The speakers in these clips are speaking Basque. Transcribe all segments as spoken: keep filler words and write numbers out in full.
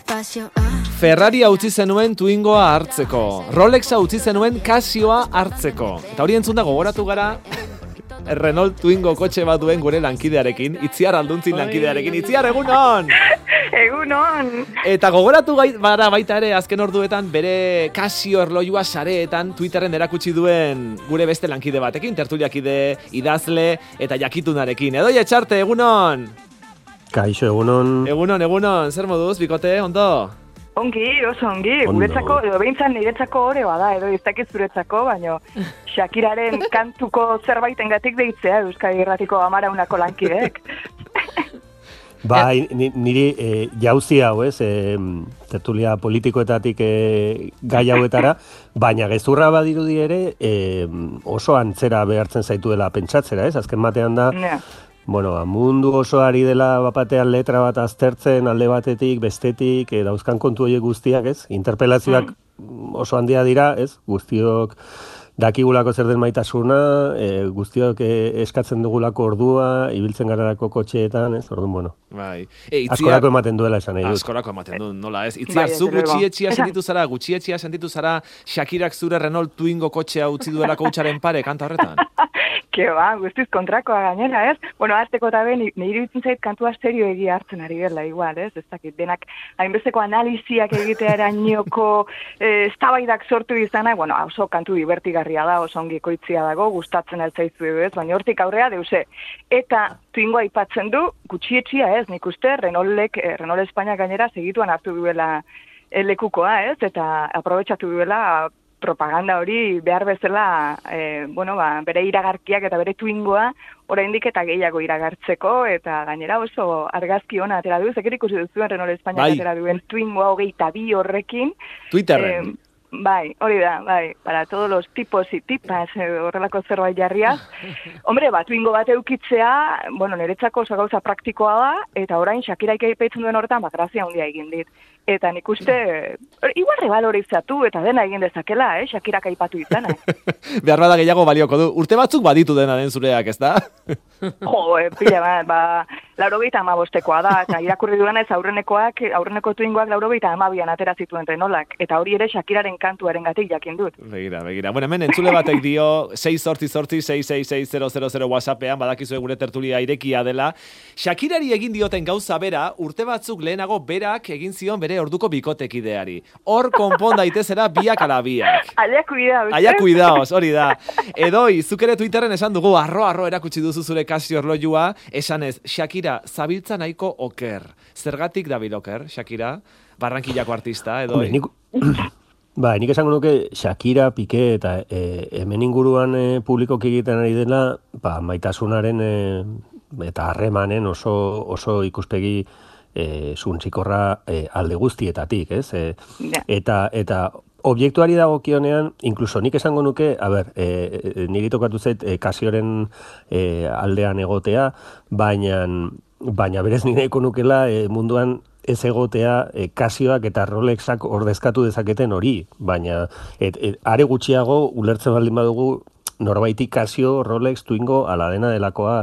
despacio. Ah. Ferraria utzi zenuen Twingoa hartzeko. Rolexa utzi zenuen Casioa hartzeko. Eta hori entzunda gogoratu gara Renault Twingo kotxe bat duen gure lankidearekin, Itziar Alduntzin lankidearekin. Itziar, egunon! Egunon! Eta gogoratu bara baita ere, azken orduetan, bere Casio erloiua sareetan Twitterren erakutsi duen gure beste lankide batekin, tertuliakide, idazle eta jakitunarekin. Edoi Etxarte, egunon! Kaixo, egunon. Egunon, egunon, zer moduz, bikote, ondo? Ongi, oso ongi, guretzako, edo behintzan niretzako ore bada, edo ez dakit zuretzako, baino Shakiraren kantuko zerbaitengatik deitzea Euskadi Irratiko amaraunako lankideek. Bai, niri e, jauzi hau, ez, e, tertulia politikoetatik e, gai hauetara, baina gezurra badirudi ere e, oso antzera behartzen zaituela pentsatzera, ez, azken batean da, yeah. Bueno, mundu oso ari dela bapatean letra bat aztertzen, alde batetik, bestetik, e, dauzkan kontu horiek guztiak, ez? Interpelazioak mm. oso handia dira, ez? Guztiok dakigulako zer den maitasuna, e, guztiok e, eskatzen dugulako ordua, ibiltzen gararako kotxeetan, ez? Orduan, bueno. Bai. E, itzia... Askorako ematen duela esan nahi dut. Askorako ematen du, nola ez? Itziar, zu gutxietxia sentitu zara, gutxietxia sentitu zara Shakirak zure Renault Twingo kotxea utzi duelako hutsaren pare, kanta horretan? Ke ba, guztiz kontrakoa gainera, ez? Bueno, azteko eta ben, nire iruditzen zait kantua serio egia hartzen ari dela, igual, ez? Ez dakit, denak hainbesteko analiziak egitea erainoko eztabaidak sortu izanak, bueno, oso kantu divertigarria da, oso ongi koitzia dago, gustatzen altzaizu edo ez, baina hortik aurrea deuse. Eta Twingoa aipatzen du, gutxietxia ez, nik uste, Renaultek, Renault Espainia gainera segituan hartu duela lekukoa, ez? Eta aprobetxatu duela propaganda hori behar bezala, e, bueno, ba, bere iragarkiak eta bere Twingoa oraindik eta gehiago iragartzeko, eta gainera oso argazki ona atera du, zeker ikusi duzuen Renault Espainia bai. Atera duen Twingoa hogeita bi horrekin. Twitterren. E, bai, hori da, bai, para todos los tipos y tipas, eh, horrelako zerbait jarriaz. Hombre, bat, Twingo bat eukitzea, bueno, niretzako oso gauza praktikoa da, eta orain Shakiraik aipatzen duen horretan, bat grazia handia egin dit. Eta nik uste, igual rebalorizatu eta dena egin dezakela, eh, Shakirak aipatu izana. Behar bada gehiago balioko du. Urte batzuk baditu dena den zureak, ez da? Jo, e, pila bat, ba, laurogeita amabostekoa da, eta irakurri duenez aurrenekoak, aurreneko Twingoak laurogeita amabian atera zituen Renaultak, eta hori ere Shakiraren kantuaren gatik jakin dut. Begira, begira. Bueno, hemen entzule batek dio, sei zortzi zortzi, sei sei sei zero zero zero WhatsAppean, badakizue gure tertulia irekia dela. Shakirari egin dioten gauza bera, urte batzuk lehenago berak egin zion bere orduko bikotekideari. Hor konpon daitezera biak ala biak. Aia cuidaos. Aia cuidaos, hori da. Edoi, zuk ere Twitterren esan dugu, arro-arro erakutsi duzu zure Casio erloiua, esanez, Shakira, zabiltza nahiko oker. Zergatik dabil oker, Shakira? Barrankillako artista, Edoi? Nik, ba, nik esango nuke Shakira, Piqué eta e, hemen inguruan e, publikoki egiten ari dela, ba, maitasunaren e, eta harremanen oso, oso ikuspegi E, zuntzikorra e, alde guztietatik, ez? E, yeah. Eta, eta objektuari dagokionean, inkluso nik esango nuke, a ber, e, e, niri tokatu zait e, Casioren e, aldean egotea, baina, baina berez nire eko nukela e, munduan ez egotea e, Casioak eta Rolexak ordezkatu dezaketen hori, baina et, et, are gutxiago ulertzen baldin badugu norbaitik Casio, Rolex, Twingo, ala dena delakoa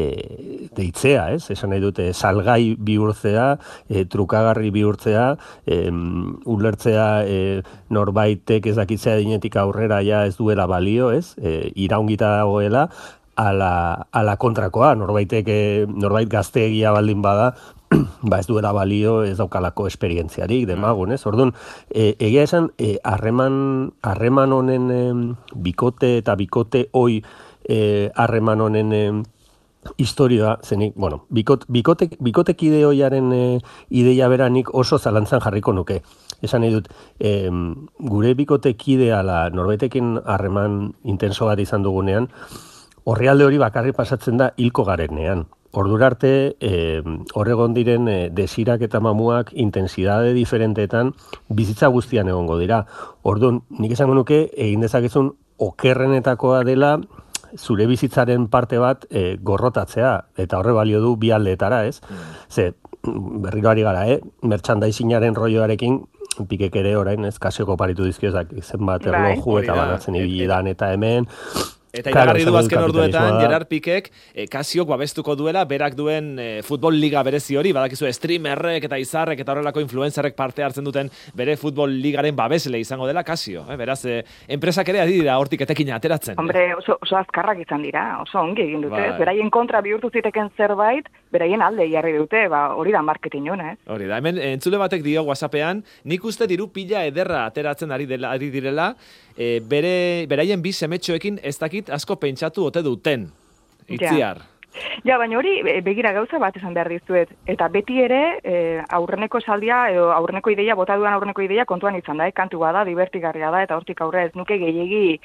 e, deitzea, ez? Esan nahi dute, salgai bihurtzea, e, trukagarri bihurtzea, e, ulertzea e, norbaitek ez dakitzea dinetik aurrera ja ez duela balio, ez? E, iraungita dagoela, ala, ala kontrakoa, norbaitek, e, norbait gazteegia baldin bada, ba ez duela balio, ez daukalako esperientziarik, demagun, ez? Orduan, e, egia esan, harreman e, harreman honen e, bikote eta bikote hoi harreman e, honen e, historia, zenik, bueno, bikot, bikote, bikotekide hoiaren e, ideia beranik oso zalantzan jarriko nuke. Esan nahi dut, e, gure bikotekide ala norbaitekin harreman intenso bat izan dugunean, horrealde hori bakarri pasatzen da hilko garenean. Ordura arte, eh, horregon diren eh, desirak eta mamuak intensidade diferenteetan bizitza guztian egongo dira. Orduan, nik esango nuke, egin dezakezun okerrenetakoa dela zure bizitzaren parte bat eh, gorrotatzea, eta horre balio du bi aldeetara, ez? Mm. Ze, berriro ari gara, eh? Merchandisingaren rolloarekin, Pikek ere orain, ez, Casioko paritu dizkiozak zenbat erloju eta banatzen ibili dan eta hemen, Eta iragarri du azken orduetan, Gerard Pikek, eh, Kasiok babestuko duela, berak duen eh, futbol liga berezi hori, badakizu streamerrek eta izarrek eta horrelako influencerrek parte hartzen duten bere futbol ligaren babesle izango dela Kasio. Eh? Beraz, eh, enpresak ere adira hortik etekin ateratzen. Hombre, oso, oso azkarrak izan dira, oso ongi egin dute. Bai. Beraien kontra bihurtu ziteken zerbait, beraien alde jarri dute, ba, hori da marketing hona, ez? Hori da, hemen entzule batek dio WhatsAppean, nik uste diru pila ederra ateratzen ari, dela, ari direla, e, bere, beraien bi semetxoekin ez dakit asko pentsatu ote duten. Itziar. Ja. ja, baina hori begira gauza bat esan behar dizuet. Eta beti ere e, aurreneko saldia, edo aurreneko ideia, bota duan aurreneko ideia kontuan izan da, eh? Kantu bada, divertigarria da, eta hortik aurre ez nuke gehiegi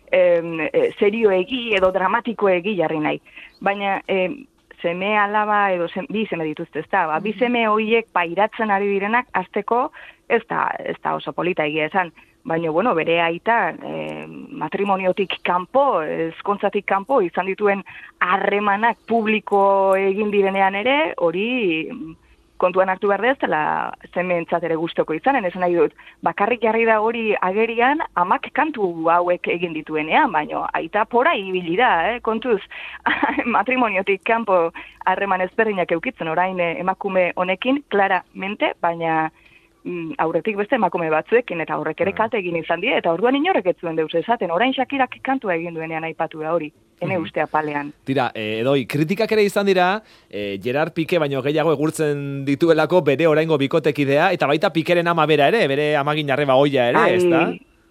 e, serioegi edo dramatikoegi jarri nahi. Baina... E, seme alaba edo sem, bi seme dituzte, ez da, ba, bi seme horiek pairatzen ari direnak azteko ez da, ez da oso polita egia esan, baina, bueno, bere aita eh, matrimoniotik kanpo, ezkontzatik kanpo, izan dituen harremanak publiko egin direnean ere, hori kontuan hartu behar dez, dela zemeentzat ere gustoko izanen, esan nahi dut, bakarrik jarri da hori agerian, amak kantu hauek egin dituenean, baina aita pora ibili da, eh? Kontuz, matrimoniotik kanpo harreman ezberdinak eukitzen, orain emakume honekin, claramente, baina mm, aurretik beste emakume batzuekin, eta horrek ere kalte egin izan die, eta orduan inorrek ez zuen deus esaten, orain Shakirak kantua egin duenean aipatu da hori. Hene uste apalean. Tira, eh, edoi, kritikak ere izan dira, eh, Gerard Pique baino gehiago egurtzen dituelako bere oraingo bikotekidea, eta baita Pikeren ama bera ere, bere amagin arreba oia ere, ez da?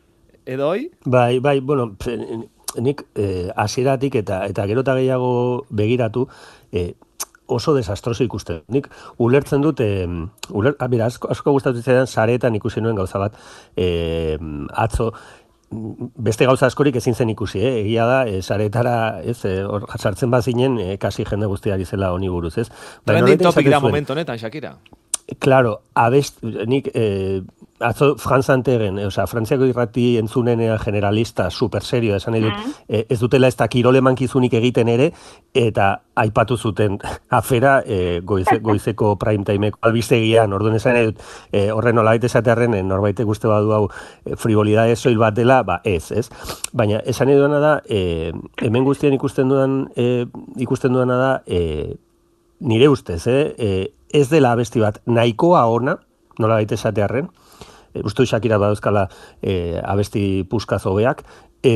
Edoi? Bai, bai, bueno, nik eh, hasieratik eta eta gero eta gehiago begiratu, eh, oso desastroso ikusten. Nik ulertzen dut, eh, uler, ah, mira, asko, asko gustatu zidan saretan ikusi nuen gauza bat, eh, atzo, beste gauza askorik ezin zen ikusi, eh? Egia da, e, saretara, ez, hor e, sartzen bazinen, e, kasi jende guztiari zela honi buruz, ez? Trending topic da momentu honetan, Shakira. Claro, abest, nik, eh, atzo Franz Antegen, eh, osea, Frantziako irrati entzunenea generalista, super serio, esan edut, mm. eh, ez dutela ez da kirole mankizunik egiten ere, eta aipatu zuten afera eh, goize, goizeko prime timeko albistegian, orduan esan edut, eh, horren nolabait esatearren, eh, norbait guzti badu hau eh, frivolidade soil bat dela, ba ez, ez? Baina esan eduna da, eh, hemen guztien ikusten dudan, eh, ikusten duana da, eh, nire ustez, eh, eh, ez dela abesti bat nahikoa ona, nola baita esatearren, e, uste du Shakira badauzkala e, abesti puskaz hobeak, e,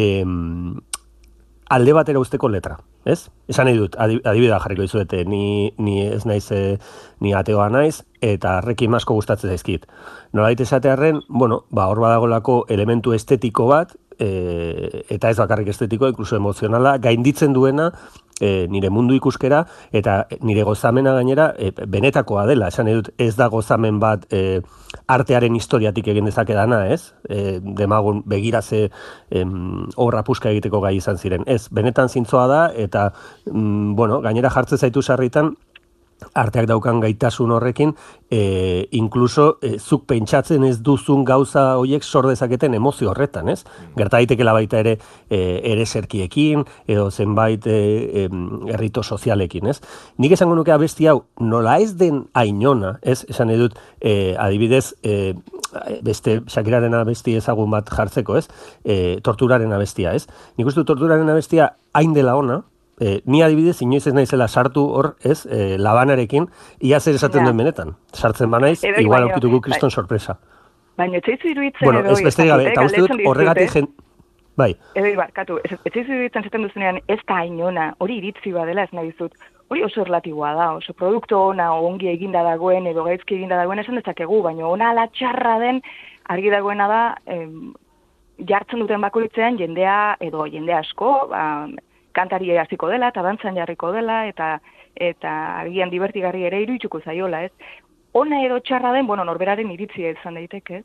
alde batera usteko letra, ez? Esan nahi dut, adibidea jarriko dizuete, ni, ni ez naiz, e, ni ateoa naiz, eta rekin asko gustatzen zaizkit. Nola baita esatearren, bueno, ba, hor badagolako elementu estetiko bat, e, eta ez bakarrik estetiko, inkluso emozionala, gainditzen duena, E, nire mundu ikuskera, eta nire gozamena gainera e, benetakoa dela, esan edut ez da gozamen bat e, artearen historiatik egin dezakedana, ez? E, demagun begiraze obra puska egiteko gai izan ziren. Ez, benetan zintzoa da, eta mm, bueno, gainera jartze zaitu sarritan, arteak daukan gaitasun horrekin, e, inkluso e, zuk pentsatzen ez duzun gauza horiek sor dezaketen emozio horretan, ez? Gerta daitekela baita ere e, ere zerkiekin, edo zenbait e, e, errito sozialekin, ez? Nik esango nuke abesti hau, nola ez den ainona, ez? Esan edut, e, adibidez, e, beste Shakiraren abesti ezagun bat jartzeko, ez? E, torturaren abestia, ez? Nik uste torturaren abestia hain dela ona, Eh, ni adibidez, inoiz ez naizela sartu hor, ez, eh, labanarekin, ia zer esaten ja. duen benetan. Sartzen banaiz, edo, igual aukituko kriston bai. Sorpresa. Baina etxeizu iruditzen bueno, edo... Bueno, ez beste gabe, eta uste dut horregatik jen... Bai. Edo, barkatu, etxeizu iruditzen zaten duzunean ez da ainona, hori iritzi badela ez nahi dizut, hori oso erlatiboa da, oso produktu ona, ongi eginda dagoen, edo gaizki eginda dagoen esan dezakegu, baina ona ala txarra den, argi dagoena da, em, jartzen duten bakoitzean jendea, edo jende asko, ba, kantari hasiko dela, eta dantzan jarriko dela, eta eta agian divertigarri ere irudituko zaiola, ez? Ona edo txarra den, bueno, norberaren iritzia izan daiteke, ez?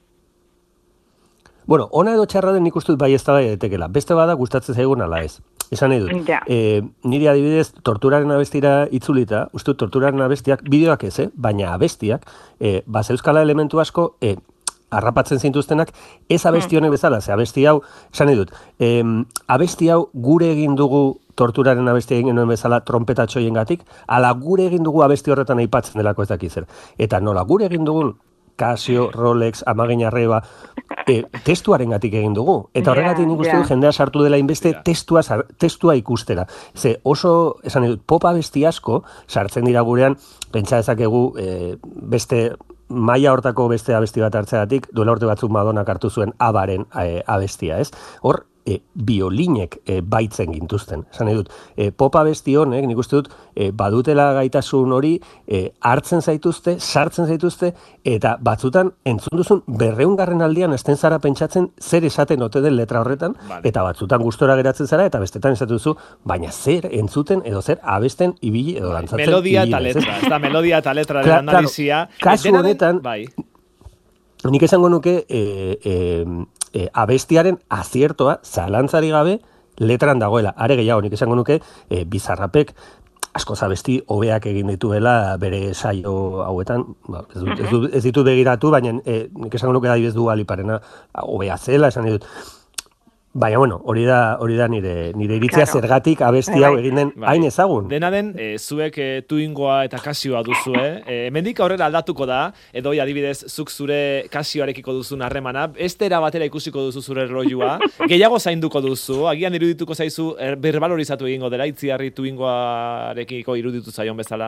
Bueno, ona edo txarra den nik uste dut bai ez da daitekela. Beste bada gustatzen zaigun ala ez. Esan nahi dut. Ja. E, niri adibidez, torturaren abestira itzulita, uste dut torturaren abestiak, bideoak ez, eh? Baina abestiak, e, bazeuzkala elementu asko, e, harrapatzen zintuztenak, ez abesti honek bezala, ze abesti hau, esan nahi dut, em, abesti hau gure egin dugu torturaren abesti egin genuen bezala trompetatxoien gatik, ala gure egin dugu abesti horretan aipatzen delako ez dakizer. Eta nola gure egin dugun Casio, Rolex, Amagin Arreba, e, testuarengatik egin dugu. Eta horregatik nik uste yeah, dut jendea sartu dela inbeste yeah. testua, testua ikustera. Ze oso, esan dut, pop abesti asko sartzen dira gurean, pentsa dezakegu e, beste maila hortako beste abesti bat hartzeagatik, duela urte batzuk Madonak hartu zuen abaren e, abestia, ez? Hor, E, biolinek e, baitzen gintuzten. Esan nahi dut, e, pop abesti honek, nik uste dut, e, badutela gaitasun hori, e, hartzen zaituzte, sartzen zaituzte, eta batzutan, entzun duzun, berreungarren aldian, esten zara pentsatzen, zer esaten ote den letra horretan, vale. Eta batzutan gustora geratzen zara, eta bestetan esatu duzu, baina zer entzuten, edo zer abesten ibili, edo dantzatzen. Melodia eta letra, ez da, melodia eta letra de analizia. Kasu honetan, bai. Nik esango nuke, e, e, E, abestiaren aziertoa, zalantzari gabe, letran dagoela. Are gehiago, nik esango nuke, e, Bizarrapek askoz abesti hobeak egin dituela bere saio hauetan. Ba, ez, dut, ez, dut, ez ditu begiratu, baina e, nik esango nuke adibidez du Aliparena hobea zela, esan ditut. Baina, bueno, hori da, hori da nire, nire iritzia claro. Zergatik abesti hau egin den hain ezagun. Dena den, e, zuek e, Twingoa eta Kasioa duzue. E, hemendik aurrera aldatuko da, edo adibidez, zuk zure Kasioarekiko duzun harremana, estera batera ikusiko duzu zure erlojua, gehiago zainduko duzu, agian irudituko zaizu, er, berbalorizatu egingo dela, Itziarri Twingoarekiko iruditu zaion bezala.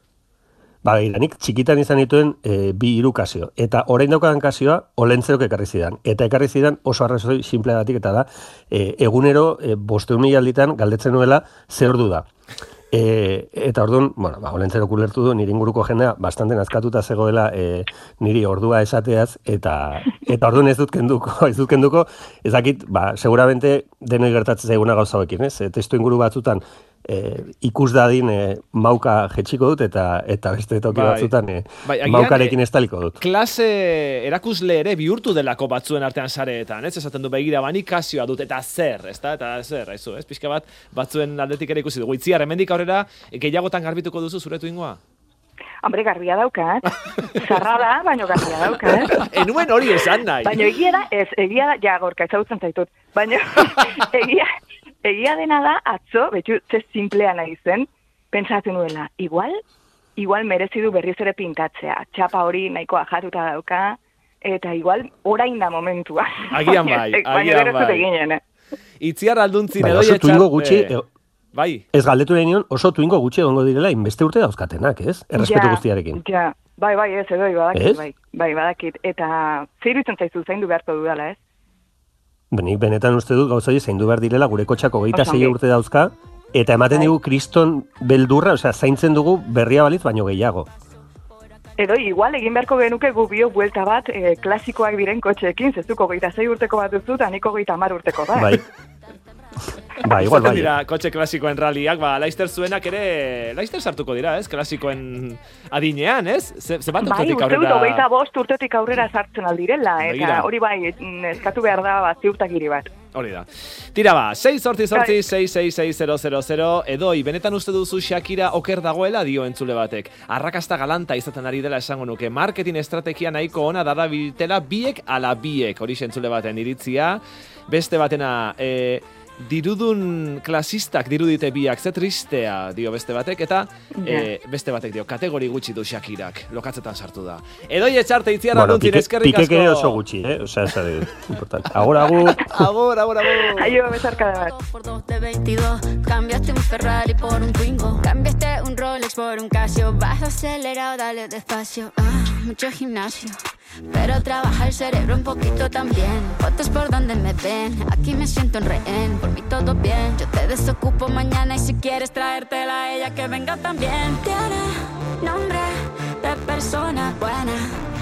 Ba, nik txikitan izan dituen e, bi hiru Kasio. Eta orain daukadan Kasioa Olentzerok ekarri zidan. Eta ekarri zidan oso arrazoi simplegatik eta da e, egunero e, bosteun mila alditan galdetzen nuela zer ordu da. E, eta orduan, bueno, ba, Olentzerok ulertu du nire inguruko jendea bastante nazkatuta zegoela e, niri ordua esateaz eta eta orduan ez dut kenduko, ez dut kenduko, ez dakit, ba, seguramente denoi gertatzen zaiguna gauza hauekin, ez? E, testu inguru batzutan E, ikus dadin e, mauka jetxiko dut eta eta beste toki bai. Batzutan e, bai, maukarekin e, estaliko dut. Klase erakusle ere bihurtu delako batzuen artean sareetan, ez? Esaten du begira bani Kasioa dut eta zer, ezta? Eta zer, aizu, ez? Pixka bat batzuen aldetik ere ikusi dugu. Itziar, hemendik aurrera gehiagotan garbituko duzu zure Twingoa? Hombre, garbia daukat. Zarra da, baina garbia daukat. Enuen hori esan nahi. Baina egia da, ez, egia da, ja, gorka, ezagutzen zaitut. Baina egia... Egia dena da, atzo, betxu, ze simplea nahi zen, pentsatu nuela, igual, igual merezi du berriz ere pintatzea. Txapa hori nahikoa jatuta dauka, eta igual orain da momentua. Agian bai, agian bai. Eginen, eh? Itziar alduntzin bai, edo etxar... Gutxi, e... Bai. Ez galdetu nahi nion, oso Twingo gutxi egongo direla, inbeste urte dauzkatenak, ez? Errespetu ja, guztiarekin. Ja, bai, bai, ez, edo, badakit, bai, bai, badakit. Eta zer iruditzen zaizu zaindu beharko dudala, ez? Nik benetan uste dut gauzoi zaindu behar direla gure kotxako hogeita sei urte dauzka, eta ematen digu kriston beldurra, osea, zaintzen dugu berria balitz baino gehiago. Edo, igual, egin beharko genuke gu bio buelta bat e, klasikoak diren kotxeekin, zezuko hogeita sei urteko bat duzu, eta niko hogeita hamar urteko bat. Bai. Ba, igual, bai. Dira, kotxe klasikoen ralliak, ba, Laister zuenak ere, Laister sartuko dira, ez? Klasikoen adinean, ez? Ze, ze bat urtetik aurrera... Bai, uste dut, hogeita bost urtetik aurrera sartzen aldirela, eta hori bai, eskatu behar da, bat, ziurtakiri bat. Hori da. Tira ba, sei sortzi sortzi, sei sei sei zero zero zero, edoi, benetan uste duzu Shakira oker dagoela dio entzule batek. Arrakasta galanta izaten ari dela esango nuke. Marketing estrategia nahiko ona darabiltela biek ala biek. Hori entzule baten iritzia. Beste batena, e, dirudun klasistak dirudite biak, ze tristea dio beste batek, eta yeah. e, beste batek dio, kategori gutxi du Shakirak, lokatzetan sartu da. Edoi etxarte itziar bueno, alduntzin eskerrik asko. Pikek oso gutxi, eh? Osea, ez da importante. Agur, agur. Agur, agur, agur. Aio, besarka da bat. Por dos de veintidós, cambiaste un Ferrari por un Twingo, cambiaste un Rolex por un Casio, vas acelerado, dale despacio, ah, mucho gimnasio. Pero trabaja el cerebro un poquito también. Fotos por donde me ven, aquí me siento en rehén. Por mí todo bien, yo te desocupo mañana. Y si quieres traértela a ella que venga también. Tiene nombre de persona buena.